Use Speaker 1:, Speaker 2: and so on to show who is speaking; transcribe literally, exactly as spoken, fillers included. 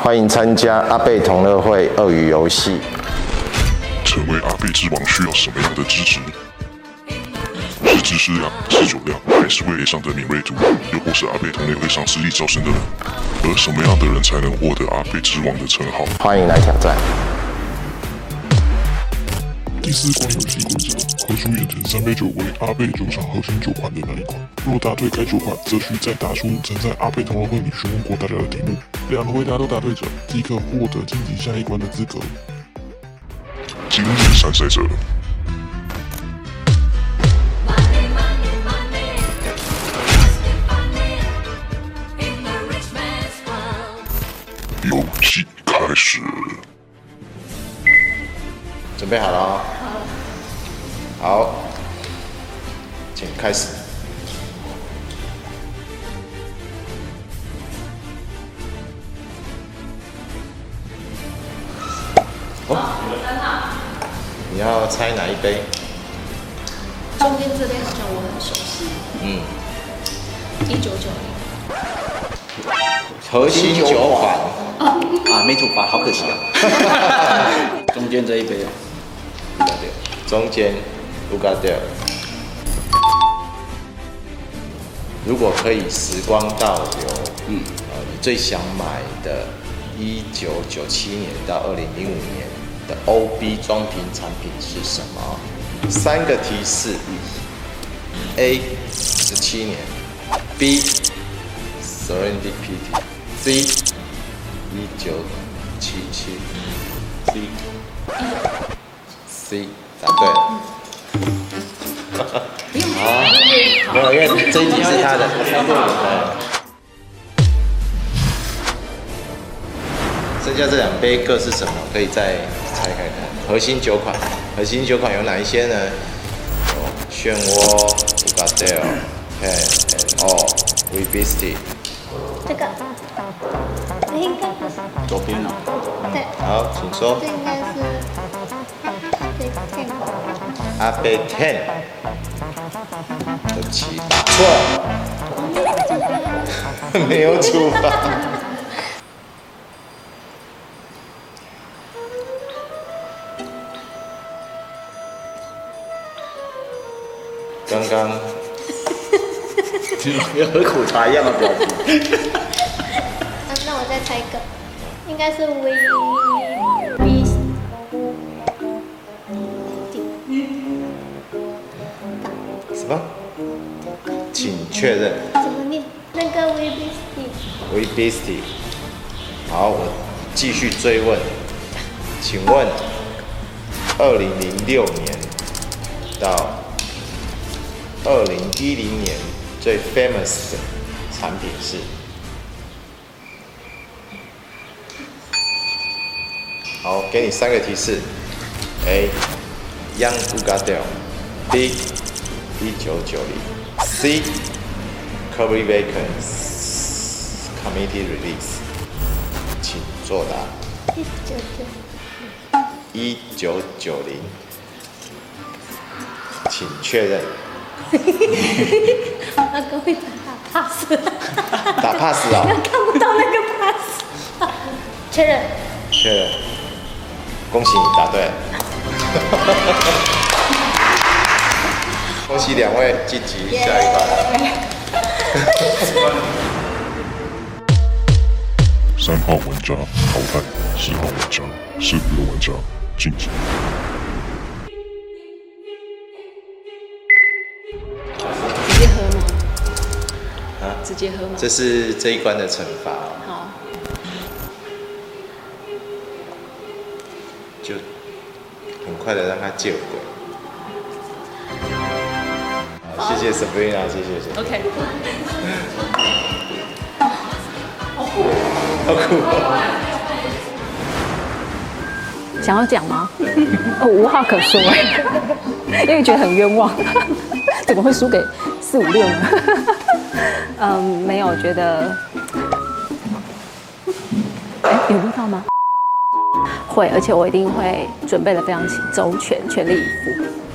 Speaker 1: 歡迎參加阿貝同樂會鱷魚遊戲。
Speaker 2: 成為阿貝之王需要什麼樣的資質？是知識量、是酒量，還是味蕾上的敏銳度？又或是阿貝同樂會上實力招生的人？而什麼樣的人才能獲得阿貝之王的稱號？
Speaker 1: 歡迎來挑戰。
Speaker 2: 第四關遊戲規則：何出演成三杯酒為阿貝酒廠核心酒款的那一款。若答對該酒款，則需再答出曾在阿貝同樂會裡詢問過大家的題目。兩個回答都答對者，即可獲得晉級下一關的資格。今日參賽者。遊戲開始。
Speaker 1: 準備好了哦。好，請開始。哦，你要猜哪一杯？
Speaker 3: 中間這杯好像我很熟悉。嗯。一九九零。
Speaker 1: 核心酒款。
Speaker 4: 啊，沒煮法，好可惜啊。中間這一杯啊。
Speaker 1: 中間。烏嘎掉。如果可以時光倒流，嗯，呃，你最想買的一九九七年到二零零五年的 O B 裝瓶產品是什麼？三個提示 ：A 十七年 ，B Serendipity，C 一九七七 ，C C 答对了。好，没有，因为這一題是他的。剩下這兩杯各是什麼？可以再猜看看。核心酒款，核心酒款有哪一些呢？有漩渦、Ugadale、Pen and All、We Beastie。
Speaker 3: 這個，這應該是
Speaker 4: 左邊哦。
Speaker 3: 對。
Speaker 1: 好，請說。
Speaker 3: 這應該是
Speaker 1: 阿貝 ten。對不起，答錯了。沒有處罰。剛剛
Speaker 4: 有喝苦茶一樣的表情。
Speaker 3: 啊，那我再猜一個，應該是 We Beastie。
Speaker 1: 什麼？請確認。
Speaker 3: 怎麼念？那個 We Beastie。We
Speaker 1: Beastie。好，我繼續追問，請問，二零零六年到二零一零年最 famous 的產品是？好，給你三個提示 ：A. Young Ugadale，B. 一九九零 ，C. Curry Bacon Committee Release， 請作答。一九九零。請確認。
Speaker 3: 那個會打 pass。
Speaker 1: 打 pass 啊、哦？
Speaker 3: 看不到那個 pass。確認。
Speaker 1: 確認。恭喜你答對了。恭喜兩位晉級下一關。
Speaker 2: 三號玩家淘汰，四號玩家，四五的玩家晉級。
Speaker 5: 直接喝嗎？
Speaker 1: 啊？
Speaker 5: 直接喝嗎？
Speaker 1: 這是這一關的懲罰。
Speaker 5: 好。
Speaker 1: 就很快的讓他見鬼。謝謝 Sabrina， 謝謝謝謝。
Speaker 5: OK。
Speaker 1: 好酷，好酷。
Speaker 5: 想要講嗎？我無話可說哎，因為覺得很冤枉，怎麼會輸給四五六呢？嗯，沒有覺得，哎，有味道嗎？會，而且我一定會準備得非常周全，全力以赴。